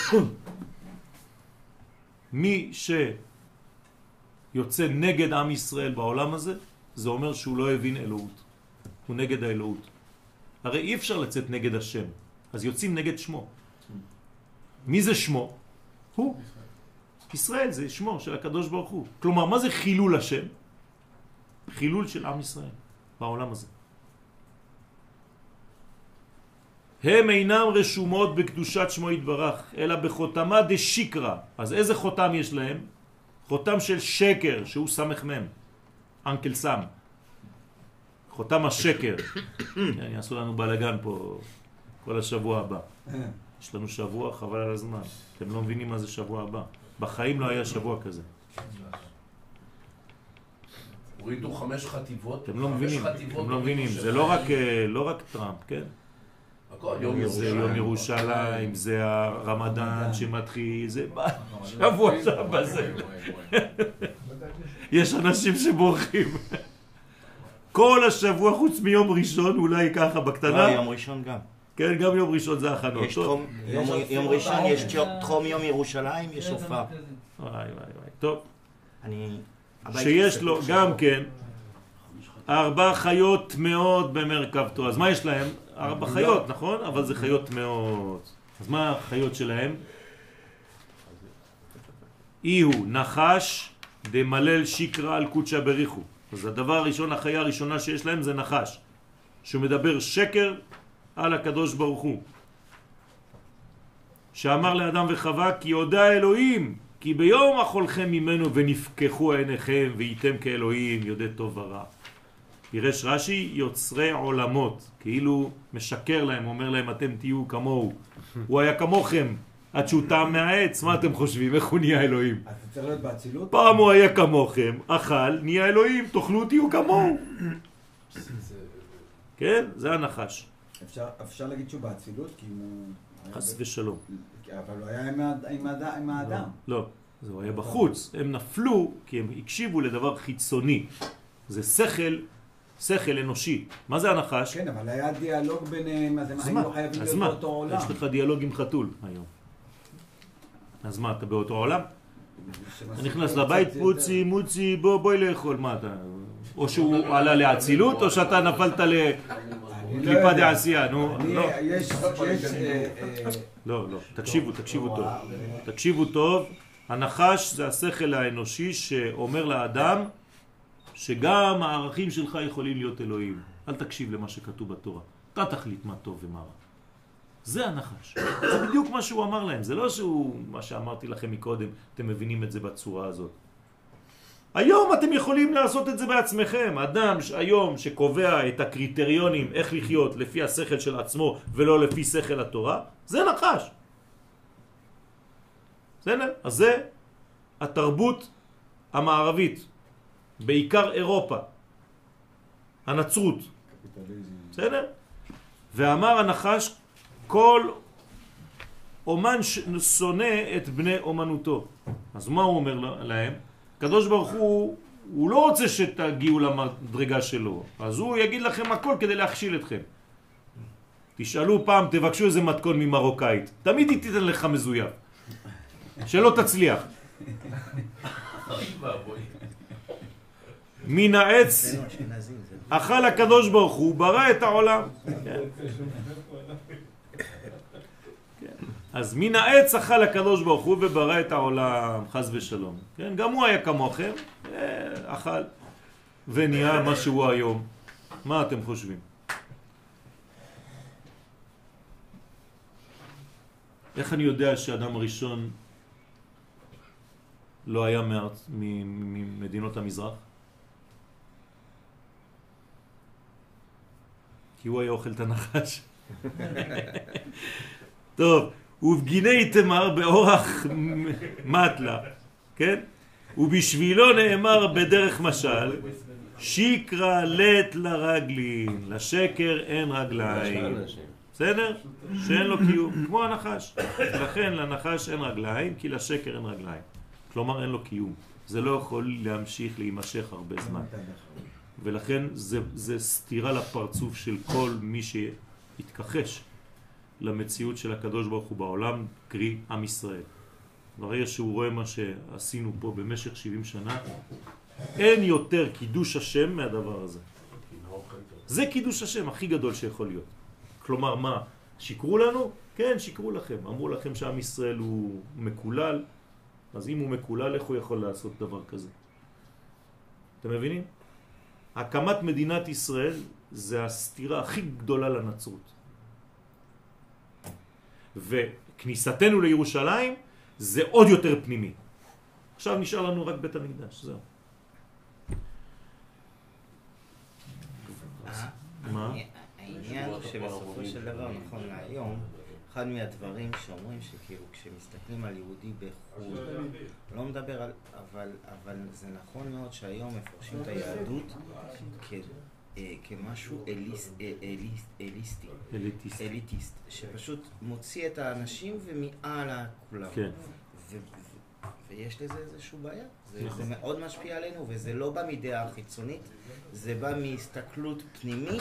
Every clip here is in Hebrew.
מי שיוצא נגד עם ישראל בעולם הזה, זה אומר שהוא לא הבין אלוהות. הוא נגד האלוהות. הרי אי אפשר לצאת נגד השם, אז יוצאים נגד שמו. מי זה שמו? הוא. ישראל זה שמו של הקדוש ברוך הוא. כלומר, מה זה חילול השם? חילול של עם ישראל בעולם הזה. הם אינם רשומות בקדושת שמו יתברך, אלא בחותמה דשיקרא. אז איזה חותם יש להם? חותם של שקר, שהוא סמך מם. אנקל סם. חותם השקר. יעשו לנו בלגן פה כל השבוע הבא. יש לנו שבוע, חבל על הזמן. אתם לא מבינים מה זה שבוע הבא. בחיים לא היה שבוע כזה. הורידו 5 חטיבות. אתם לא מבינים, אתם לא מבינים. זה לא רק טראמפ, כן? זה יום ירושלים, זה הרמדאן שמתחיל, זה שבוע שבא זה. יש אנשים שבורחים. כל השבוע חוץ מיום ראשון, אולי ככה בקטנה. יום ראשון גם. כן, גם יום ראשון זה הכנות. יום ראשון יש תחום יום ירושלים, יש הופעה. וואי. טוב. שיש לו גם כן 4 חיות מאוד במרכבתו. אז מה יש להם? 4 חיות, נכון? אבל זה חיות מאוד. אז מה החיות שלהם? איהו נחש דמלל שיקרא על קודשא בריחו. אז הדבר הראשון, החיה הראשונה שיש להם זה נחש, שמדבר שקר על הקדוש ברוך הוא, שאמר לאדם וחווה כי יודע אלוהים כי ביום אכולכם ממנו ונפקחו עיניכם והייתם כאלוהים יודע טוב ורע. פירש רש"י יוצרי עולמות, כאילו משקר להם, אומר להם אתם תהיו כמוהו. הוא היה כמוכם עד שהוא טעם מהעץ. מה אתם חושבים? איך הוא נהיה אלוהים? אז זה צריך להיות באצילות? פעם הוא היה כמוכם, אכל, נהיה אלוהים, תאכלו תהיו כמוהו. כן? זה הנחש. אפשר להגיד שהוא באצילות? כי הוא... חס ושלום. אבל הוא היה עם האדם. לא, זה היה בחוץ. הם נפלו כי הם הקשיבו לדבר חיצוני. זה שכל אנושי. מה זה הנחש? כן, אבל היה דיאלוג ביניהם, אז הם היו חייבים להיות באותו עולם. יש לך דיאלוג עם חתול היום. אז מה, אתה באותו עולם? אתה נכנס לבית, פוצי, מוצי, בואי לאכול, מה אתה? או שהוא עלה להצילות, או שאתה נפלת לקליפה דעשייה, נו. לא, תקשיבו טוב. הנחש זה השכל האנושי שאומר לאדם שגם הערכים שלך יכולים להיות אלוהים. אל תקשיב למה שכתוב בתורה. אתה תחליט מה טוב ומה רע. זה הנחש. זה בדיוק מה שהוא אמר להם. זה לא שהוא, מה שאמרתי לכם מקודם, אתם מבינים את זה בצורה הזאת. היום אתם יכולים לעשות את זה בעצמכם. אדם היום שקובע את הקריטריונים איך לחיות לפי השכל של עצמו ולא לפי שכל התורה, זה נחש. בסדר? אז זה התרבות המערבית, בעיקר אירופה, הנצרות. בסדר? ואמר הנחש, כל אומן שונא את בני אומנותו. אז מה הוא אומר להם? הקדוש ברוך הוא לא רוצה שתגיעו למדרגה שלו, אז הוא יגיד לכם הכל כדי להכשיל אתכם. תשאלו פעם, תבקשו איזה מתכון ממרוקאית, תמיד היא תיתן לך מזויף, שלא תצליח. מן העץ אכל הקדוש ברוך הוא, ברא את העולם. אז מן העץ אכל הקדוש ברוך הוא וברא את העולם, חס ושלום. כן? גם הוא היה כמוכם, אכל ונהיה מה שהוא היום. מה אתם חושבים? איך אני יודע שאדם הראשון לא היה ממדינות המזרח? כי הוא היה אוכל את הנחש. טוב, ובגיני תמר באורח מטלה, כן? ובשבילו נאמר בדרך משל, שיקרא לת לרגלין, לשקר אין רגליים. בסדר? שאין לו קיום, כמו הנחש. לכן לנחש אין רגליים, כי לשקר אין רגליים. כלומר אין לו קיום. זה לא יכול להמשיך להימשך הרבה זמן. ולכן זה סתירה לפרצוף של כל מי שהתכחש למציאות של הקדוש ברוך הוא בעולם, קרי עם ישראל. ברגע שהוא רואה מה שעשינו פה במשך 70 שנה, אין יותר קידוש השם מהדבר הזה. זה קידוש השם הכי גדול שיכול להיות. כלומר, מה? שיקרו לנו? כן, שיקרו לכם. אמרו לכם שעם ישראל הוא מקולל, אז אם הוא מקולל, איך הוא יכול לעשות דבר כזה? אתם מבינים? הקמת מדינת ישראל זה הסתירה הכי גדולה לנצרות. וכניסתנו לירושלים זה עוד יותר פנימי. עכשיו נשאר לנו רק בית המקדש, זהו. מה? העניין שבסופו של דבר, נכון להיום, אחד מהדברים שאומרים שכאילו כשמסתכלים על יהודי בחו"ל, לא מדבר על, אבל זה נכון מאוד שהיום מפרשים את היהדות כמשהו אליטיסט, שפשוט מוציא את האנשים ומעל כולם. כן. ויש לזה איזשהו בעיה. זה מאוד משפיע עלינו, וזה לא בא מדעה חיצונית, זה בא מהסתכלות פנימית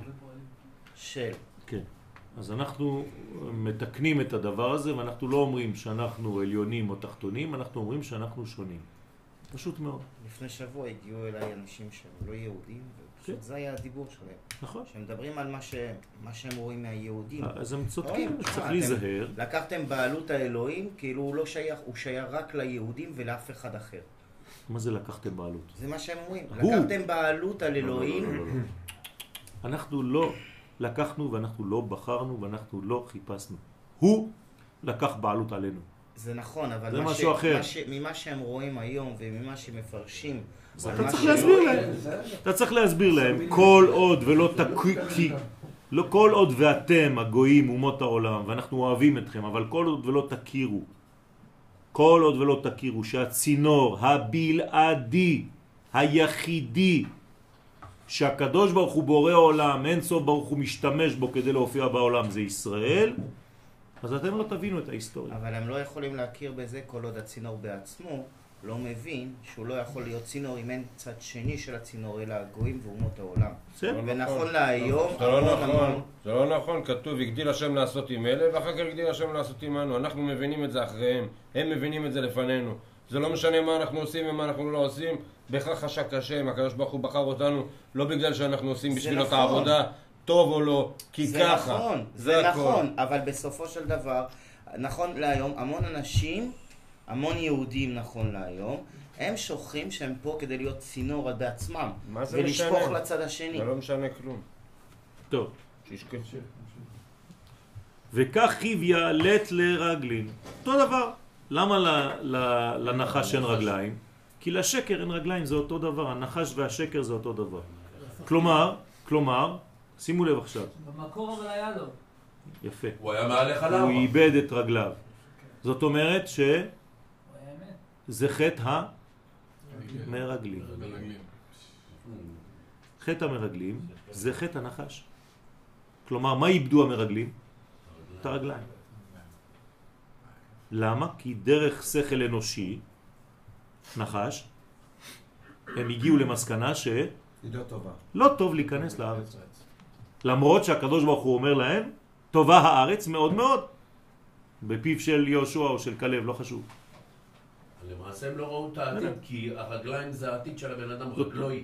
של... כן. אז אנחנו מתקנים את הדבר הזה, ואנחנו לא אומרים שאנחנו עליונים או תחתונים, אנחנו אומרים שאנחנו שונים. פשוט מאוד. לפני שבוע הגיעו אליי אנשים שהם לא יהודים, ופשוט זה היה הדיבור שלהם. נכון. שהם מדברים על מה שהם רואים מהיהודים. אז הם צודקים, צריך להיזהר. לקחתם בעלות האלוהים, כאילו הוא לא שייך, הוא שייך רק ליהודים ולאף אחד אחר. מה זה לקחתם בעלות? זה מה שהם אומרים. לקחתם בעלות על אלוהים. אנחנו לא לקחנו ואנחנו לא בחרנו ואנחנו לא חיפשנו. הוא לקח בעלות עלינו. זה נכון, אבל זה משהו אחר. ממה שהם רואים היום וממה שמפרשים... אתה צריך להסביר להם. אתה צריך להסביר להם. כל עוד ולא כל עוד ואתם הגויים אומות העולם ואנחנו אוהבים אתכם, אבל כל עוד ולא תכירו, כל עוד ולא תכירו שהצינור הבלעדי היחידי שהקדוש ברוך הוא בורא עולם, אין סוף ברוך הוא משתמש בו כדי להופיע בעולם, זה ישראל, אז אתם לא תבינו את ההיסטוריה. אבל הם לא יכולים להכיר בזה כל עוד הצינור בעצמו לא מבין שהוא לא יכול להיות צינור אם אין צד שני של הצינור אלא הגויים ואומות העולם. ונכון להיום... זה לא נכון, כתוב הגדיל השם לעשות עם אלה ואחר כך הגדיל השם לעשות עמנו. אנחנו מבינים את זה אחריהם, הם מבינים את זה לפנינו. זה לא משנה מה אנחנו עושים ומה אנחנו לא עושים, בכך חשק השם, הקדוש ברוך הוא בחר אותנו לא בגלל שאנחנו עושים בשבילו את העבודה טוב או לא, כי ככה. זה נכון, אבל בסופו של דבר, נכון להיום, המון אנשים, המון יהודים נכון להיום, הם שוכחים שהם פה כדי להיות צינור בעצמם, ולשפוך לצד השני. זה לא משנה כלום. טוב. שישכחו. וכך חיוויה לט לרגלין. אותו דבר. למה לנחש אין רגליים? כי לשקר אין רגליים, זה אותו דבר. הנחש והשקר זה אותו דבר. כלומר, שימו לב עכשיו. במקור אבל היה לו. יפה. הוא היה מעליך למה? הוא איבד את רגליו. זאת אומרת זה חטא המרגלים. חטא המרגלים זה חטא הנחש. כלומר, מה איבדו המרגלים? את הרגליים. למה? כי דרך שכל אנושי, נחש, הם הגיעו למסקנה לא טוב להיכנס לארץ. למרות שהקדוש ברוך הוא אומר להם, טובה הארץ מאוד מאוד. בפיו של יהושע או של כלב, לא חשוב. למעשה הם לא ראו את העתיד, כי הרגליים זה העתיד של הבן אדם רגלוי.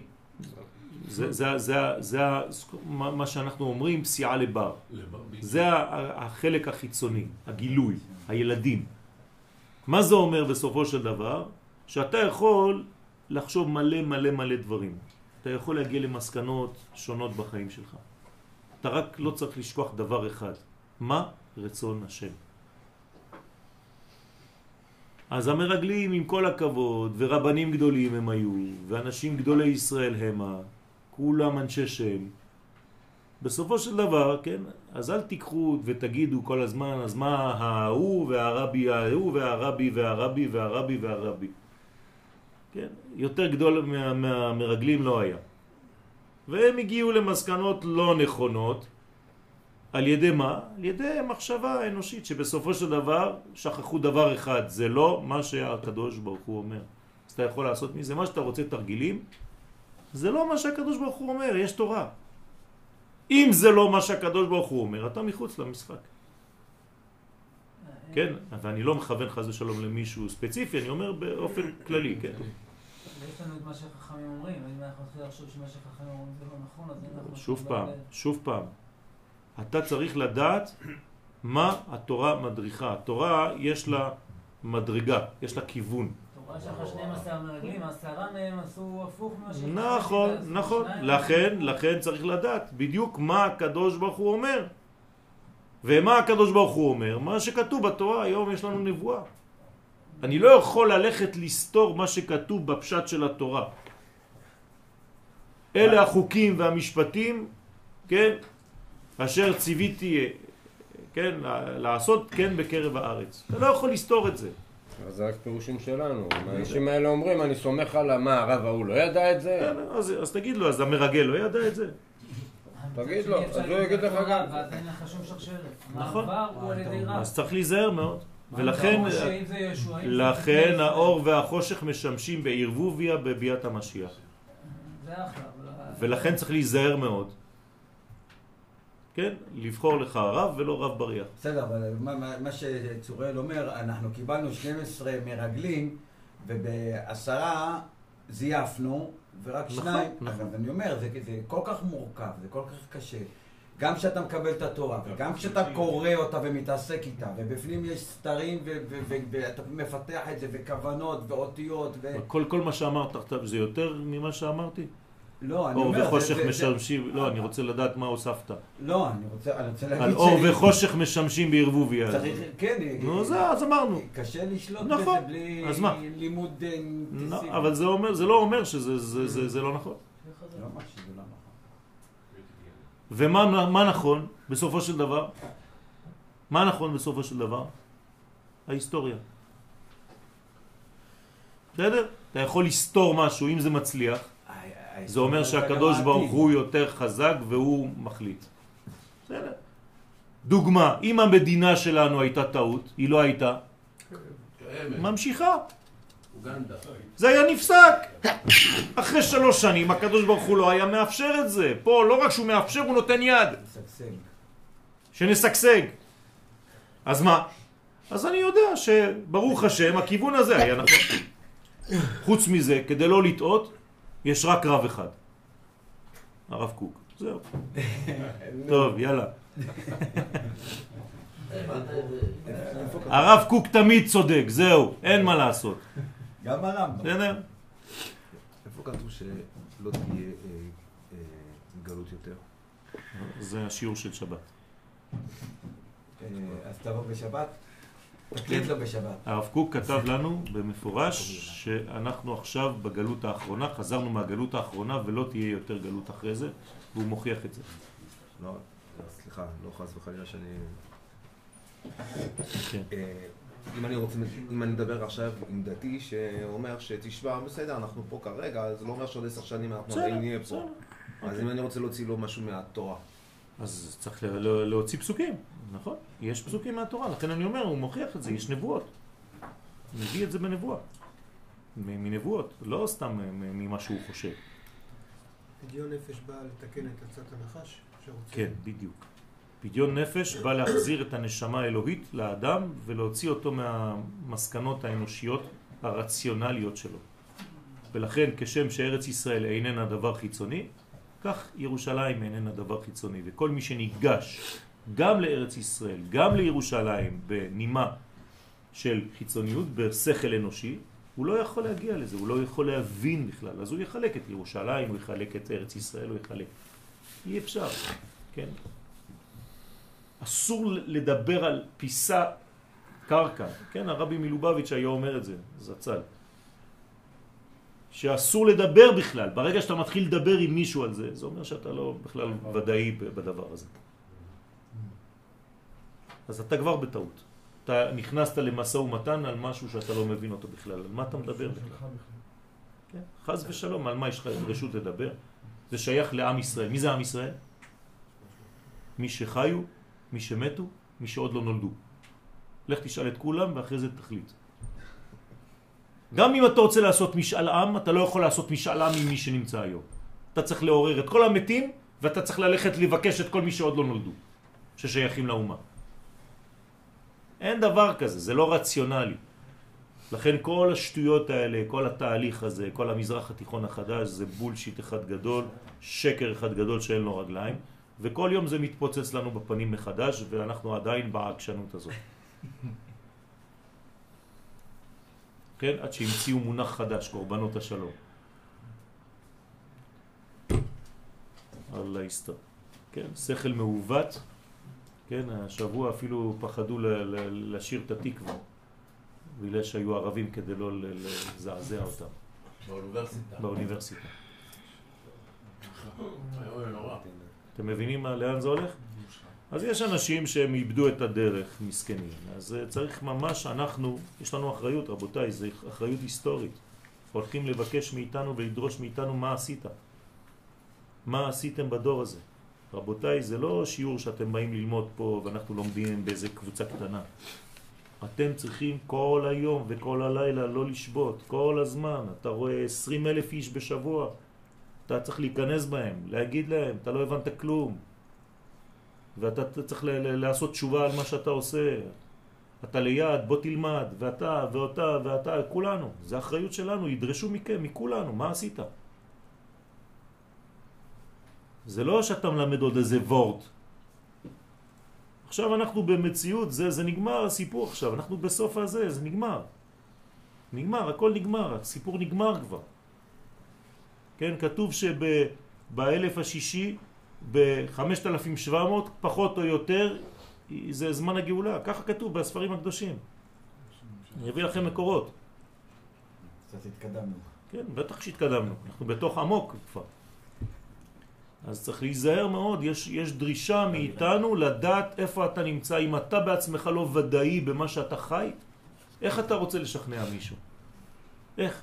זה מה שאנחנו אומרים, פסיעה לבר. זה החלק החיצוני, הגילוי, הילדים. מה זה אומר בסופו של דבר? שאתה יכול לחשוב מלא דברים. אתה יכול להגיע למסקנות שונות בחיים שלך. אתה רק לא צריך לשכוח דבר אחד. מה? רצון השם. אז המרגלים עם כל הכבוד, ורבנים גדולים הם היו, ואנשים גדולי ישראל המה, כולם אנשי שם. בסופו של דבר, כן, אז אל תיקחו ותגידו כל הזמן, אז מה ההוא והרבי ההוא והרבי והרבי והרבי והרבי. כן, יותר גדול מהמרגלים לא היה. והם הגיעו למסקנות לא נכונות, על ידי מה? על ידי מחשבה אנושית, שבסופו של דבר שכחו דבר אחד, זה לא מה שהקדוש ברוך הוא אומר. אז אתה יכול לעשות מזה מה שאתה רוצה תרגילים, זה לא מה שהקדוש ברוך הוא אומר, יש תורה. אם זה לא מה שהקדוש ברוך הוא אומר, אתה מחוץ למשחק. כן? ואני לא מכוון חס ושלום למישהו ספציפי, אני אומר באופן כללי, כן? יש לנו את מה שהחכמים אומרים, אם אנחנו נתחיל לחשוב שמה שהחכמים אומרים זה לא נכון, אז אנחנו... שוב פעם. אתה צריך לדעת מה התורה מדריכה. התורה יש לה מדרגה, יש לה כיוון. התורה שאחרי 12 מרגלים, 10 מהם עשו הפוך ממה שהחכמים... נכון. לכן צריך לדעת בדיוק מה הקדוש ברוך הוא אומר. ומה הקדוש ברוך הוא אומר? מה שכתוב בתורה, היום יש לנו נבואה. אני לא יכול ללכת לסתור מה שכתוב בפשט של התורה. אלה החוקים והמשפטים, כן, אשר ציוויתי, כן, לעשות כן בקרב הארץ. אתה לא יכול לסתור את זה. אז זה רק פירושים שלנו. האנשים האלה אומרים, אני סומך על מה, הרב ההוא לא ידע את זה? כן, אז תגיד לו, אז המרגל לא ידע את זה? תגיד לו, אז הוא יגיד לך גם. ואז אין לך שום שרשרת. נכון. המעבר הוא על ידי רב. אז צריך להיזהר מאוד. ולכן האור והחושך משמשים בערבוביה בביאת המשיח. זה אחלה. ולכן צריך להיזהר מאוד. כן? לבחור לך רב ולא רב בריח. בסדר, אבל מה שצוראל אומר, אנחנו קיבלנו 12 מרגלים, וב10 זייפנו, ורק 2. אגב, אני אומר, זה כל כך מורכב, זה כל כך קשה. גם כשאתה מקבל את התורה, וגם כשאתה קורא אותה ומתעסק איתה, ובפנים יש סתרים, ואתה מפתח את זה, וכוונות, ואותיות, כל מה שאמרת עכשיו, זה יותר ממה שאמרתי? לא, אני אור אומר... וחושך משמשים, לא, אני רוצה לדעת מה הוספת. לא, אני רוצה להגיד על אור וחושך משמשים בערבוביה. כן, נו, אז אמרנו. קשה לשלוט בזה בלי לימוד אינטנסיבי. אבל זה לא אומר שזה לא נכון. לא אומר שזה לא נכון. ומה נכון בסופו של דבר? מה נכון בסופו של דבר? ההיסטוריה. בסדר? אתה יכול לסתור משהו אם זה מצליח. זה אומר שהקדוש ברוך הוא יותר חזק והוא מחליט. בסדר. דוגמה, אם המדינה שלנו הייתה טעות, היא לא הייתה ממשיכה. זה היה נפסק. אחרי 3 שנים הקדוש ברוך הוא לא היה מאפשר את זה. פה לא רק שהוא מאפשר, הוא נותן יד. שנסגסג. אז מה? אז אני יודע שברוך השם הכיוון הזה היה נכון. חוץ מזה, כדי לא לטעות, יש רק רב אחד. הרב קוק. זהו. טוב, יאללה. הרב קוק תמיד צודק, זהו, אין מה לעשות. גם הרמב"ם. בסדר? איפה כתוב שלא תהיה גלות יותר? זה השיעור של שבת. אז תבוא בשבת? תקליט לו בשבת. הרב קוק כתב לנו במפורש שאנחנו עכשיו בגלות האחרונה, חזרנו מהגלות האחרונה ולא תהיה יותר גלות אחרי זה, והוא מוכיח את זה. לא, סליחה, לא חס וחלילה שאני... כן. אם אני מדבר עכשיו עם דתי שאומר שתשמע, בסדר, אנחנו פה כרגע, אז לא אומר שעוד 10 שנים אנחנו עדיין נהיה פה. אז אם אני רוצה להוציא לו משהו מהתורה. אז צריך להוציא פסוקים, נכון? יש פסוקים מהתורה, לכן אני אומר, הוא מוכיח את זה, יש נבואות. מביא את זה בנבואה. מנבואות, לא סתם ממה שהוא חושב. פדיון נפש בא לתקן את עצת הנחש? כן, בדיוק. פדיון נפש בא להחזיר את הנשמה האלוהית לאדם ולהוציא אותו מהמסקנות האנושיות הרציונליות שלו. ולכן כשם שארץ ישראל איננה דבר חיצוני, כך ירושלים איננה דבר חיצוני. וכל מי שניגש גם לארץ ישראל, גם לירושלים בנימה של חיצוניות, בשכל אנושי, הוא לא יכול להגיע לזה, הוא לא יכול להבין בכלל. אז הוא יחלק את ירושלים, הוא יחלק את ארץ ישראל, הוא יחלק. אי אפשר, כן? אסור לדבר על פיסה קרקע, כן? הרבי מלובביץ' היה אומר את זה, זצ"ל. שאסור לדבר בכלל. ברגע שאתה מתחיל לדבר עם מישהו על זה, זה אומר שאתה לא בכלל ודאי בדבר הזה. אז אתה כבר בטעות. אתה נכנסת למשא ומתן על משהו שאתה לא מבין אותו בכלל. על מה אתה מדבר בכלל? כן? חס ושלום, על מה יש לך רשות לדבר? זה שייך לעם ישראל. מי זה עם ישראל? מי שחיו, מי שמתו, מי שעוד לא נולדו. לך תשאל את כולם ואחרי זה תחליט. גם אם אתה רוצה לעשות משאל עם, אתה לא יכול לעשות משאל עם עם מי שנמצא היום. אתה צריך לעורר את כל המתים, ואתה צריך ללכת לבקש את כל מי שעוד לא נולדו, ששייכים לאומה. אין דבר כזה, זה לא רציונלי. לכן כל השטויות האלה, כל התהליך הזה, כל המזרח התיכון החדש, זה בולשיט אחד גדול, שקר אחד גדול שאין לו רגליים, וכל יום זה מתפוצץ לנו בפנים מחדש, ואנחנו עדיין בעקשנות הזאת. כן? עד שהמציאו מונח חדש, קורבנות השלום. אללה יסתר. כן? שכל מעוות, כן? השבוע אפילו פחדו לשיר את התקווה. בגלל שהיו ערבים כדי לא לזעזע אותם. באוניברסיטה. אתם מבינים לאן זה הולך? אז יש אנשים שהם איבדו את הדרך, מסכנים. אז צריך ממש, יש לנו אחריות, רבותיי, זו אחריות היסטורית. הולכים לבקש מאיתנו ולדרוש מאיתנו מה עשית. מה עשיתם בדור הזה? רבותיי, זה לא שיעור שאתם באים ללמוד פה ואנחנו לומדים באיזה קבוצה קטנה. אתם צריכים כל היום וכל הלילה לא לשבות, כל הזמן. אתה רואה 20,000 איש בשבוע, אתה צריך להיכנס בהם, להגיד להם, אתה לא הבנת כלום. ואתה צריך לעשות תשובה על מה שאתה עושה. אתה ליד, בוא תלמד, ואתה ואותה ואתה, כולנו. זה אחריות שלנו, ידרשו מכם, מכולנו, מה עשית? זה לא שאתה מלמד עוד איזה וורט. עכשיו אנחנו במציאות, זה נגמר הסיפור עכשיו, אנחנו בסוף הזה, זה נגמר. נגמר, הכל נגמר, הסיפור נגמר כבר. כן, כתוב שבאלף השישי, ב-5700, פחות או יותר, זה זמן הגאולה. ככה כתוב בספרים הקדושים. אני אביא לכם מקורות. קצת התקדמנו. כן, בטח שהתקדמנו. אנחנו בתוך עמוק כבר. אז צריך להיזהר מאוד, יש דרישה מאיתנו לדעת איפה אתה נמצא. אם אתה בעצמך לא ודאי במה שאתה חי, איך אתה רוצה לשכנע מישהו? איך?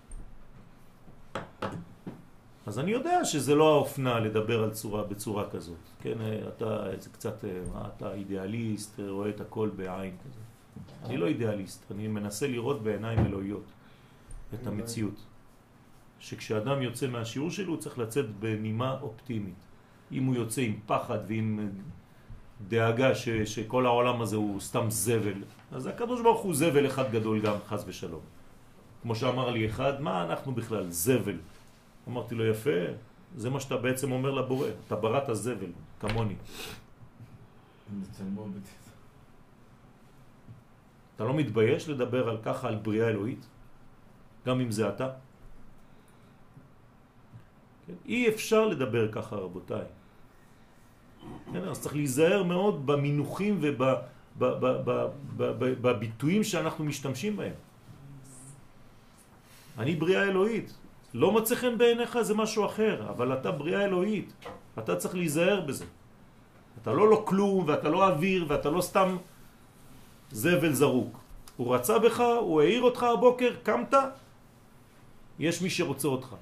אז אני יודע שזה לא האופנה לדבר על בצורה כזאת. כן, אתה קצת, אתה אידיאליסט, רואה את הכל בעין כזה. אני לא אידיאליסט, אני מנסה לראות בעיניים אלוהיות את המציאות. שכשאדם יוצא מהשיעור שלו הוא צריך לצאת בנימה אופטימית. אם הוא יוצא עם פחד ועם דאגה שכל העולם הזה הוא סתם זבל, אז הקדוש ברוך הוא זבל אחד גדול גם, חס ושלום. כמו שאמר לי אחד, מה אנחנו בכלל? זבל. אמרתי לו, יפה, זה מה שאתה בעצם אומר לבורא, אתה בראת הזבל, כמוני. אתה לא מתבייש לדבר על ככה, על בריאה אלוהית? גם אם זה אתה? כן? אי אפשר לדבר ככה, רבותיי. כן? אז צריך להיזהר מאוד במינוחים ובביטויים שאנחנו משתמשים בהם. אני בריאה אלוהית. לא מצא חן בעיניך זה משהו אחר, אבל אתה בריאה אלוהית. אתה צריך להיזהר בזה. אתה לא כלום, ואתה לא אוויר, ואתה לא סתם זבל זרוק. הוא רצה בך, הוא העיר אותך הבוקר, קמת, יש מי שרוצה אותך.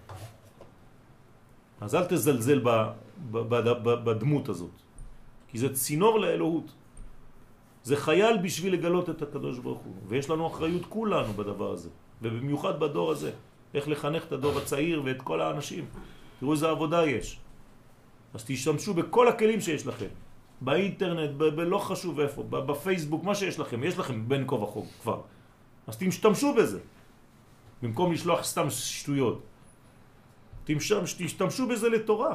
אז אל תזלזל בדמות הזאת, כי זה צינור לאלוהות. זה חייל בשביל לגלות את הקדוש ברוך הוא, ויש לנו אחריות כולנו בדבר הזה, ובמיוחד בדור הזה. איך לחנך את הדור הצעיר ואת כל האנשים. תראו איזה עבודה יש. אז תשתמשו בכל הכלים שיש לכם. באינטרנט, לא חשוב איפה, בפייסבוק, מה שיש לכם. יש לכם בין כה וכה כבר. אז תשתמשו בזה. במקום לשלוח סתם שטויות. תשתמשו בזה לתורה.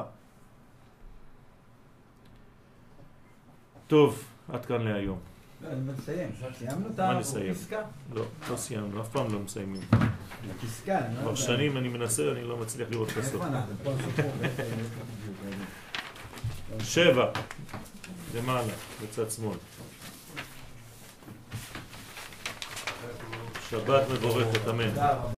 טוב, עד כאן להיום. אני מסיים. סיימנו את הפסקה? לא סיימנו, אף פעם לא מסיימים. הפסקה, כבר שנים אני מנסה, אני לא מצליח לראות את הסוף. איפה אנחנו? פה סיפור. 7, למעלה, בצד שמאל. שבת מבורכת, אמן.